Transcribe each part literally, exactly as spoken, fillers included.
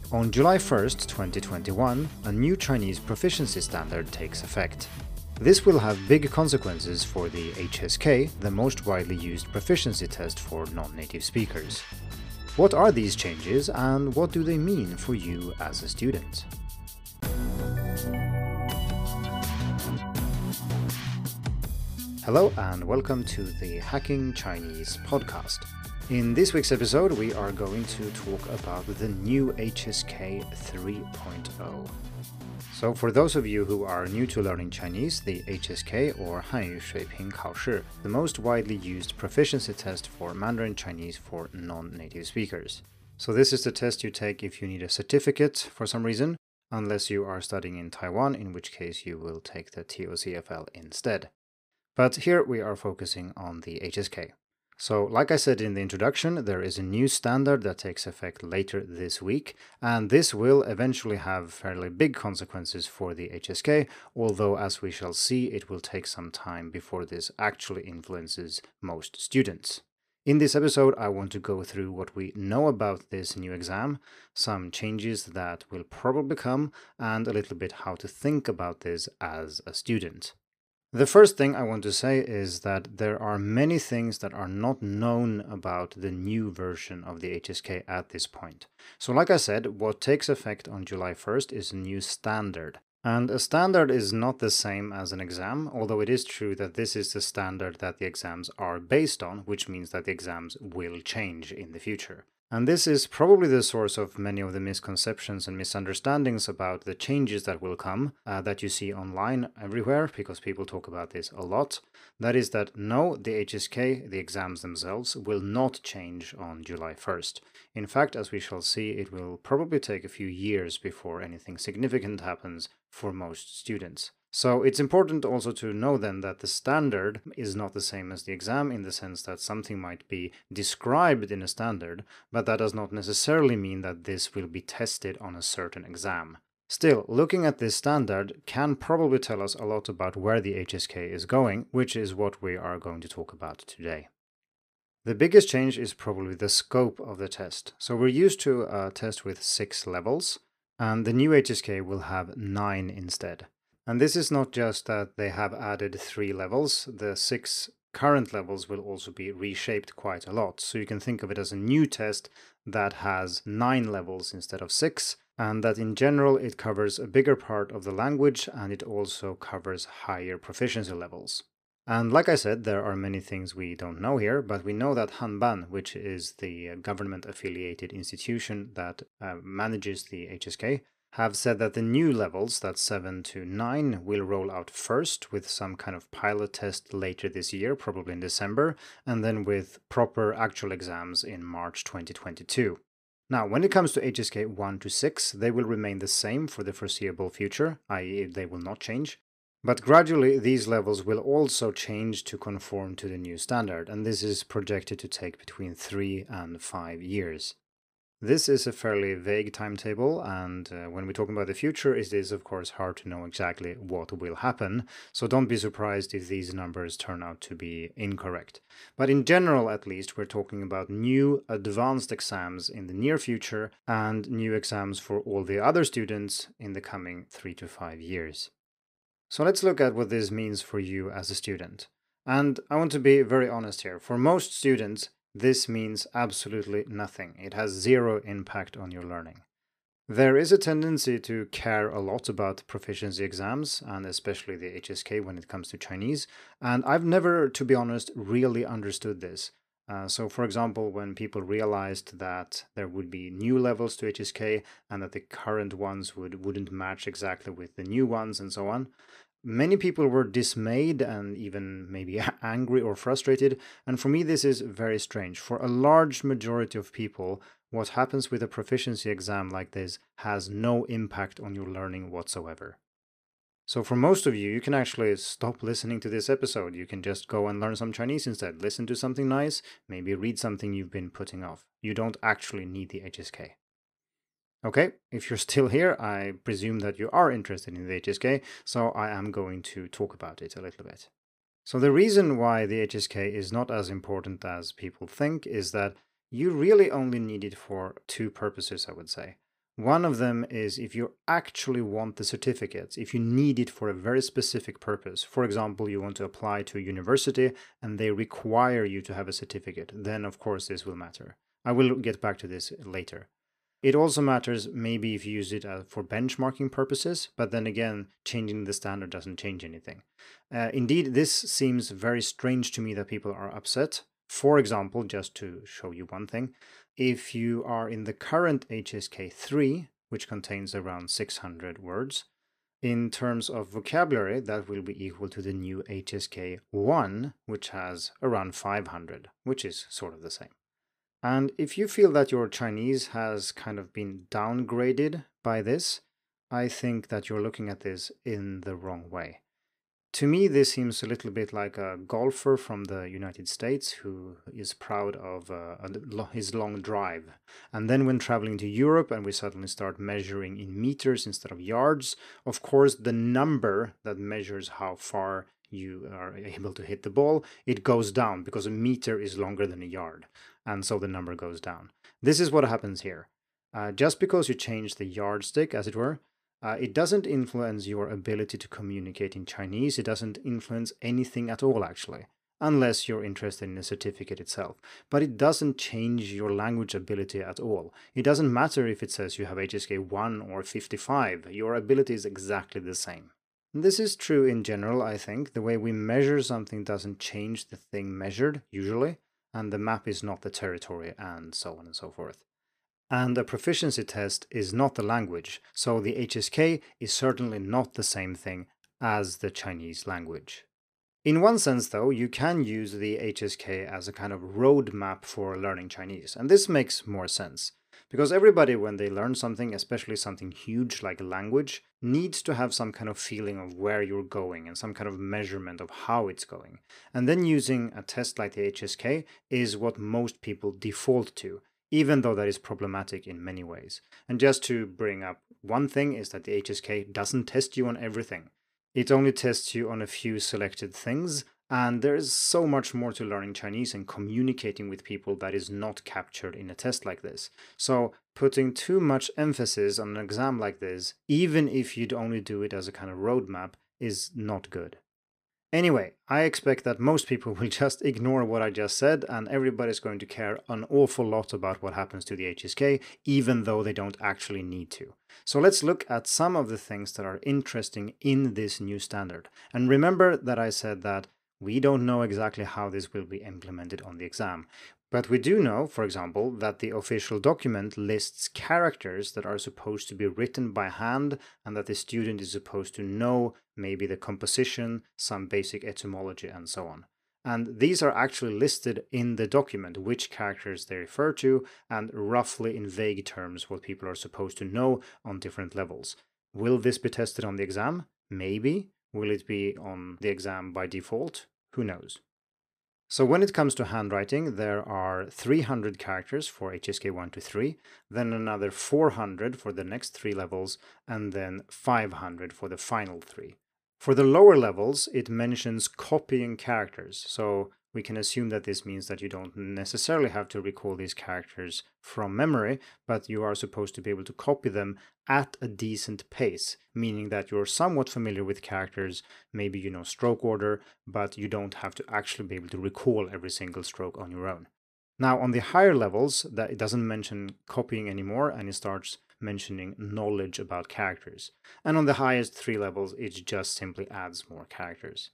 On July first, twenty twenty-one, a new Chinese proficiency standard takes effect. This will have big consequences for the H S K, the most widely used proficiency test for non-native speakers. What are these changes and what do they mean for you as a student? Hello and welcome to the Hacking Chinese podcast. In this week's episode, we are going to talk about the new H S K three point oh. So for those of you who are new to learning Chinese, the H S K or 汉语水平考试, the most widely used proficiency test for Mandarin Chinese for non-native speakers. So this is the test you take if you need a certificate for some reason, unless you are studying in Taiwan, in which case you will take the T O C F L instead. But here we are focusing on the H S K. So, like I said in the introduction, there is a new standard that takes effect later this week, and this will eventually have fairly big consequences for the H S K, although as we shall see, it will take some time before this actually influences most students. In this episode, I want to go through what we know about this new exam, some changes that will probably come, and a little bit how to think about this as a student. The first thing I want to say is that there are many things that are not known about the new version of the H S K at this point. So like I said, what takes effect on July first is a new standard. And a standard is not the same as an exam, although it is true that this is the standard that the exams are based on, which means that the exams will change in the future. And this is probably the source of many of the misconceptions and misunderstandings about the changes that will come uh, that you see online everywhere, because people talk about this a lot. That is that no, the H S K, the exams themselves, will not change on July first. In fact, as we shall see, it will probably take a few years before anything significant happens for most students. So it's important also to know then that the standard is not the same as the exam in the sense that something might be described in a standard, but that does not necessarily mean that this will be tested on a certain exam. Still, looking at this standard can probably tell us a lot about where the H S K is going, which is what we are going to talk about today. The biggest change is probably the scope of the test. So we're used to a test with six levels, and the new H S K will have nine instead. And this is not just that they have added three levels, the six current levels will also be reshaped quite a lot. So you can think of it as a new test that has nine levels instead of six, and that in general it covers a bigger part of the language and it also covers higher proficiency levels. And like I said, there are many things we don't know here, but we know that Hanban, which is the government-affiliated institution that uh, manages the H S K, have said that the new levels, that's seven to nine, will roll out first with some kind of pilot test later this year, probably in December, and then with proper actual exams in March twenty twenty-two. Now, when it comes to H S K one to six, they will remain the same for the foreseeable future, that is they will not change. But gradually, these levels will also change to conform to the new standard, and this is projected to take between three and five years. This is a fairly vague timetable, and uh, when we're talking about the future, it is of course hard to know exactly what will happen, so don't be surprised if these numbers turn out to be incorrect. But in general, at least, we're talking about new advanced exams in the near future and new exams for all the other students in the coming three to five years. So let's look at what this means for you as a student. And I want to be very honest here. For most students, this means absolutely nothing. It has zero impact on your learning. There is a tendency to care a lot about proficiency exams, and especially the H S K when it comes to Chinese, and I've never, to be honest, really understood this. Uh, so, for example, when people realized that there would be new levels to H S K and that the current ones would, wouldn't match exactly with the new ones and so on, many people were dismayed and even maybe angry or frustrated, and for me this is very strange. For a large majority of people, what happens with a proficiency exam like this has no impact on your learning whatsoever. So for most of you, you can actually stop listening to this episode. You can just go and learn some Chinese instead. Listen to something nice, maybe read something you've been putting off. You don't actually need the H S K. Okay, if you're still here, I presume that you are interested in the H S K, so I am going to talk about it a little bit. So the reason why the H S K is not as important as people think is that you really only need it for two purposes, I would say. One of them is if you actually want the certificate, if you need it for a very specific purpose. For example, you want to apply to a university and they require you to have a certificate, then of course this will matter. I will get back to this later. It also matters maybe if you use it uh, for benchmarking purposes, but then again, changing the standard doesn't change anything. Uh, indeed, this seems very strange to me that people are upset. For example, just to show you one thing, if you are in the current H S K three, which contains around six hundred words, in terms of vocabulary, that will be equal to the new H S K one, which has around five hundred, which is sort of the same. And if you feel that your Chinese has kind of been downgraded by this, I think that you're looking at this in the wrong way. To me, this seems a little bit like a golfer from the United States who is proud of uh, his long drive. And then when traveling to Europe and we suddenly start measuring in meters instead of yards, of course, the number that measures how far you are able to hit the ball, it goes down because a meter is longer than a yard. And so the number goes down. This is what happens here. Uh, just because you change the yardstick, as it were, Uh, it doesn't influence your ability to communicate in Chinese. It doesn't influence anything at all, actually, unless you're interested in the certificate itself. But it doesn't change your language ability at all. It doesn't matter if it says you have H S K one or fifty-five. Your ability is exactly the same. This is true in general, I think. The way we measure something doesn't change the thing measured, usually, and the map is not the territory, and so on and so forth. And a proficiency test is not the language, so the H S K is certainly not the same thing as the Chinese language. In one sense, though, you can use the H S K as a kind of roadmap for learning Chinese, and this makes more sense. Because everybody, when they learn something, especially something huge like a language, needs to have some kind of feeling of where you're going and some kind of measurement of how it's going. And then using a test like the H S K is what most people default to, even though that is problematic in many ways. And just to bring up one thing is that the H S K doesn't test you on everything. It only tests you on a few selected things, and there is so much more to learning Chinese and communicating with people that is not captured in a test like this. So putting too much emphasis on an exam like this, even if you'd only do it as a kind of roadmap, is not good. Anyway, I expect that most people will just ignore what I just said, and everybody's going to care an awful lot about what happens to the H S K, even though they don't actually need to. So let's look at some of the things that are interesting in this new standard. And remember that I said that we don't know exactly how this will be implemented on the exam. But we do know, for example, that the official document lists characters that are supposed to be written by hand and that the student is supposed to know maybe the composition, some basic etymology, and so on. And these are actually listed in the document, which characters they refer to, and roughly in vague terms what people are supposed to know on different levels. Will this be tested on the exam? Maybe. Will it be on the exam by default? Who knows? So when it comes to handwriting, there are three hundred characters for H S K one to three, then another four hundred for the next three levels, and then five hundred for the final three. For the lower levels, it mentions copying characters, so we can assume that this means that you don't necessarily have to recall these characters from memory, but you are supposed to be able to copy them at a decent pace, meaning that you're somewhat familiar with characters, maybe you know stroke order, but you don't have to actually be able to recall every single stroke on your own. Now, on the higher levels, that it doesn't mention copying anymore, and it starts mentioning knowledge about characters. And on the highest three levels, it just simply adds more characters.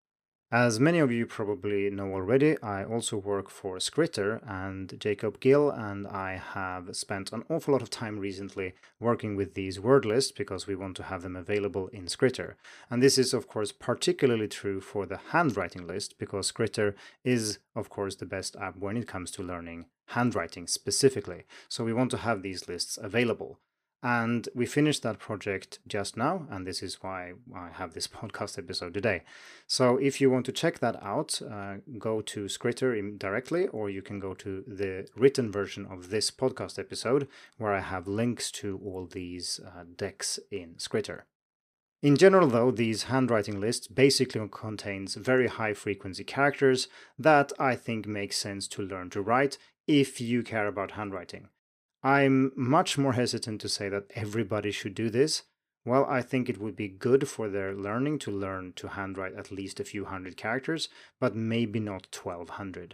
As many of you probably know already, I also work for Skritter, and Jacob Gill and I have spent an awful lot of time recently working with these word lists because we want to have them available in Skritter. And this is of course particularly true for the handwriting list because Skritter is of course the best app when it comes to learning handwriting specifically. So we want to have these lists available. And we finished that project just now, and this is why I have this podcast episode today. So if you want to check that out, uh, go to Skritter directly, or you can go to the written version of this podcast episode, where I have links to all these uh, decks in Skritter. In general, though, these handwriting lists basically contains very high-frequency characters that I think make sense to learn to write if you care about handwriting. I'm much more hesitant to say that everybody should do this. Well, I think it would be good for their learning to learn to handwrite at least a few hundred characters, but maybe not twelve hundred.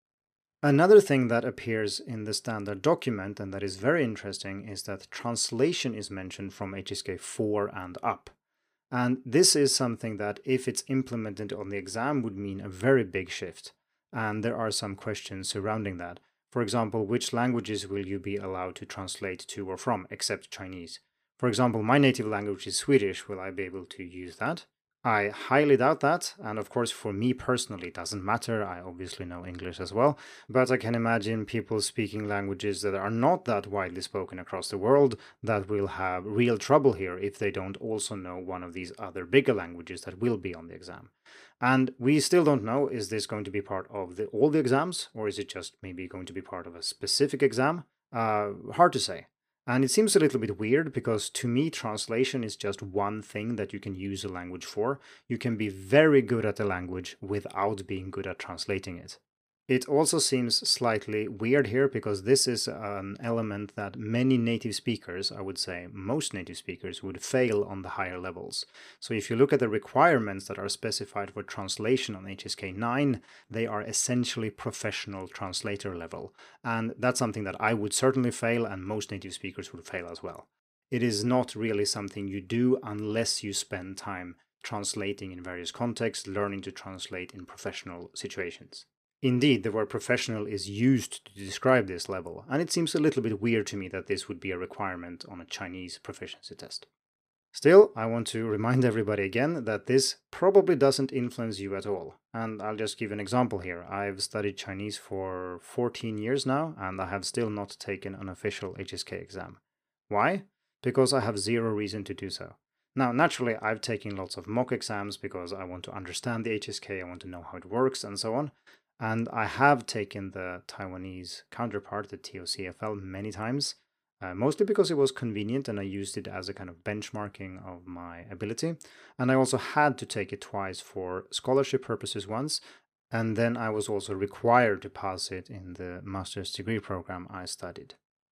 Another thing that appears in the standard document and that is very interesting is that translation is mentioned from H S K four and up. And this is something that, if it's implemented on the exam, would mean a very big shift. And there are some questions surrounding that. For example, which languages will you be allowed to translate to or from, except Chinese? For example, my native language is Swedish. Will I be able to use that? I highly doubt that, and of course for me personally it doesn't matter, I obviously know English as well, but I can imagine people speaking languages that are not that widely spoken across the world that will have real trouble here if they don't also know one of these other bigger languages that will be on the exam. And we still don't know, is this going to be part of the, all the exams, or is it just maybe going to be part of a specific exam? Uh, hard to say. And it seems a little bit weird because to me, translation is just one thing that you can use a language for. You can be very good at a language without being good at translating it. It also seems slightly weird here because this is an element that many native speakers, I would say most native speakers, would fail on the higher levels. So if you look at the requirements that are specified for translation on H S K nine, they are essentially professional translator level. And that's something that I would certainly fail and most native speakers would fail as well. It is not really something you do unless you spend time translating in various contexts, learning to translate in professional situations. Indeed, the word professional is used to describe this level, and it seems a little bit weird to me that this would be a requirement on a Chinese proficiency test. Still, I want to remind everybody again that this probably doesn't influence you at all, and I'll just give an example here. I've studied Chinese for fourteen years now, and I have still not taken an official H S K exam. Why? Because I have zero reason to do so. Now, naturally, I've taken lots of mock exams because I want to understand the H S K, I want to know how it works, and so on. And I have taken the Taiwanese counterpart, the T O C F L, many times, uh, mostly because it was convenient and I used it as a kind of benchmarking of my ability. And I also had to take it twice for scholarship purposes once, and then I was also required to pass it in the master's degree program I studied.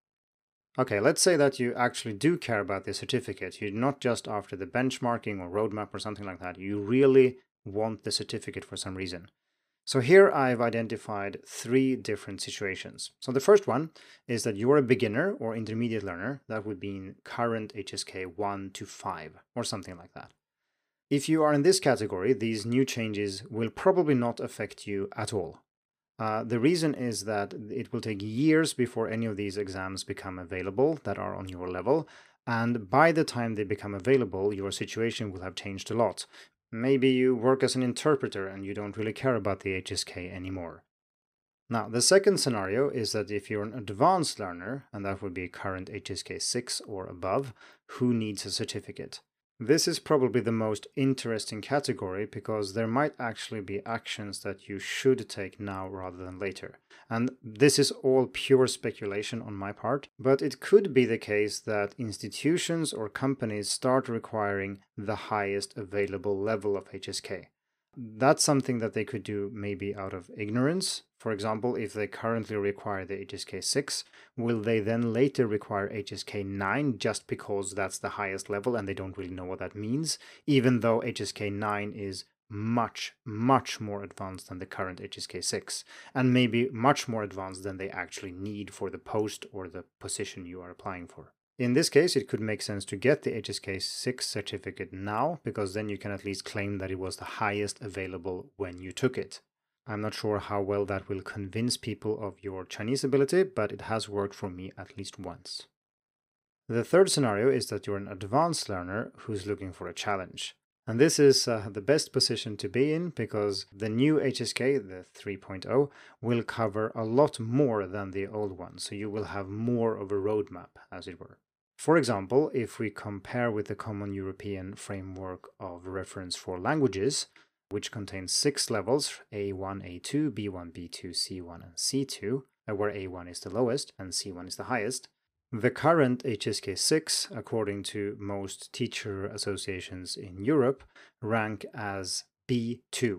Okay, let's say that you actually do care about the certificate. You're not just after the benchmarking or roadmap or something like that. You really want the certificate for some reason. So here I've identified three different situations. So the first one is that you're a beginner or intermediate learner. That would be in current H S K one to five or something like that. If you are in this category, these new changes will probably not affect you at all. Uh, the reason is that it will take years before any of these exams become available that are on your level, and by the time they become available, your situation will have changed a lot. Maybe you work as an interpreter and you don't really care about the H S K anymore. Now, the second scenario is that if you're an advanced learner, and that would be current H S K six or above, who needs a certificate? This is probably the most interesting category because there might actually be actions that you should take now rather than later. And this is all pure speculation on my part, but it could be the case that institutions or companies start requiring the highest available level of H S K. That's something that they could do maybe out of ignorance. For example, if they currently require the H S K six, will they then later require H S K nine just because that's the highest level and they don't really know what that means, even though H S K nine is much, much more advanced than the current H S K six, and maybe much more advanced than they actually need for the post or the position you are applying for. In this case, it could make sense to get the H S K six certificate now, because then you can at least claim that it was the highest available when you took it. I'm not sure how well that will convince people of your Chinese ability, but it has worked for me at least once. The third scenario is that you're an advanced learner who's looking for a challenge. And this is uh, the best position to be in because the new H S K, the three point oh, will cover a lot more than the old one, so you will have more of a roadmap, as it were. For example, if we compare with the Common European Framework of Reference for Languages, which contains six levels, A one, A two, B one, B two, C one, and C two, where A one is the lowest and C one is the highest, the current H S K six, according to most teacher associations in Europe, rank as B two.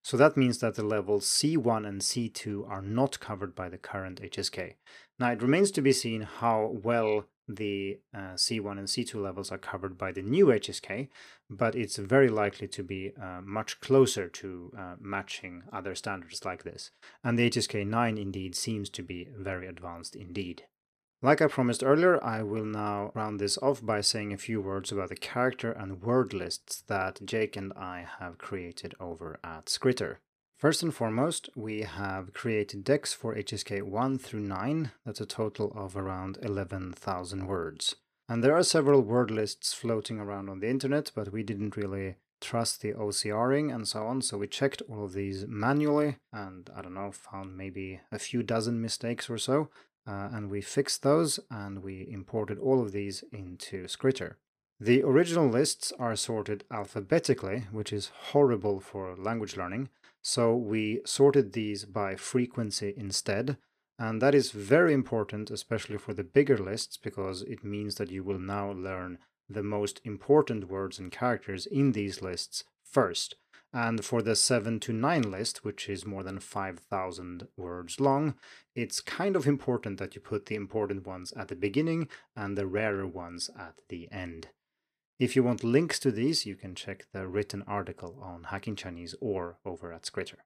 So that means that the levels C one and C two are not covered by the current H S K. Now it remains to be seen how well the uh, C one and C two levels are covered by the new H S K, but it's very likely to be uh, much closer to uh, matching other standards like this. And the H S K nine indeed seems to be very advanced indeed. Like I promised earlier, I will now round this off by saying a few words about the character and word lists that Jake and I have created over at Skritter. First and foremost, we have created decks for H S K one through nine. That's a total of around eleven thousand words. And there are several word lists floating around on the internet, but we didn't really trust the O C R ing and so on, so we checked all of these manually and, I don't know, found maybe a few dozen mistakes or so. Uh, and we fixed those, and we imported all of these into Skritter. The original lists are sorted alphabetically, which is horrible for language learning, so we sorted these by frequency instead, and that is very important, especially for the bigger lists, because it means that you will now learn the most important words and characters in these lists first. And for the seven to nine list, which is more than five thousand words long, it's kind of important that you put the important ones at the beginning and the rarer ones at the end. If you want links to these, you can check the written article on Hacking Chinese or over at Skritter.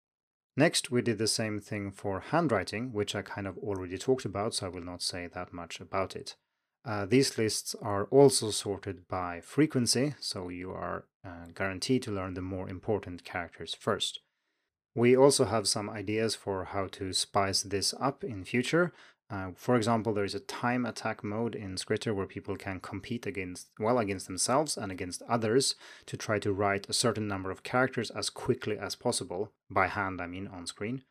Next, we did the same thing for handwriting, which I kind of already talked about, so I will not say that much about it. Uh, these lists are also sorted by frequency, so you are uh, guaranteed to learn the more important characters first. We also have some ideas for how to spice this up in future. Uh, for example, there is a time attack mode in Skritter where people can compete against, well, against themselves and against others to try to write a certain number of characters as quickly as possible, by hand I mean, on screen.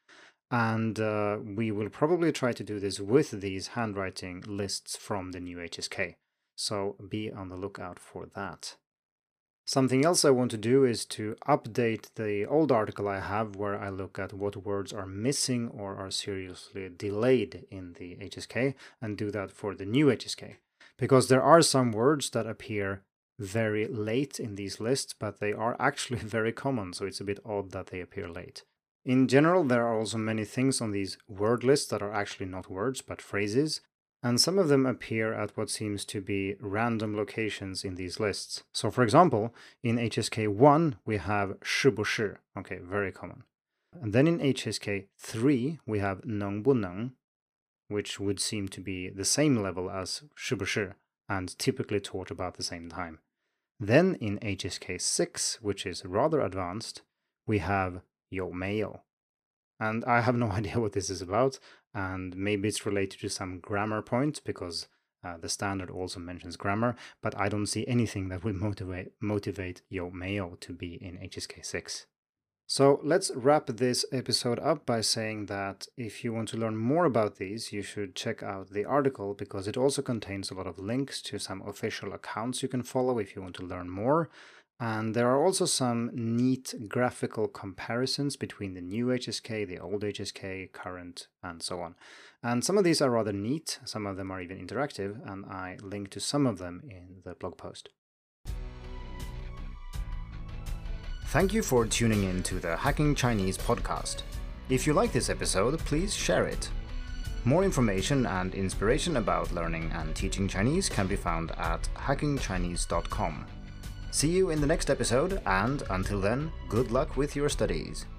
And uh, we will probably try to do this with these handwriting lists from the new H S K, so be on the lookout for that. Something else I want to do is to update the old article I have where I look at what words are missing or are seriously delayed in the H S K, and do that for the new H S K. Because there are some words that appear very late in these lists, but they are actually very common, so it's a bit odd that they appear late. In general, there are also many things on these word lists that are actually not words, but phrases, and some of them appear at what seems to be random locations in these lists. So for example, in H S K one, we have 是不是, okay, very common. And then in H S K three, we have 能不能, which would seem to be the same level as 是不是, and typically taught about the same time. Then in H S K six, which is rather advanced, we have 有没有. And I have no idea what this is about, and maybe it's related to some grammar point, because uh, the standard also mentions grammar, but I don't see anything that will motivate, motivate 有没有 to be in H S K six. So let's wrap this episode up by saying that if you want to learn more about these, you should check out the article, because it also contains a lot of links to some official accounts you can follow if you want to learn more. And there are also some neat graphical comparisons between the new H S K, the old H S K, current, and so on. And some of these are rather neat, some of them are even interactive, and I link to some of them in the blog post. Thank you for tuning in to the Hacking Chinese podcast. If you like this episode, please share it. More information and inspiration about learning and teaching Chinese can be found at hacking chinese dot com. See you in the next episode, and until then, good luck with your studies.